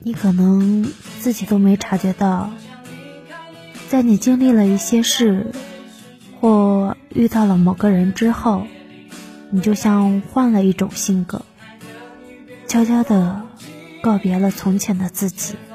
你可能自己都没察觉到，在你经历了一些事或遇到了某个人之后，你就像换了一种性格，悄悄地告别了从前的自己。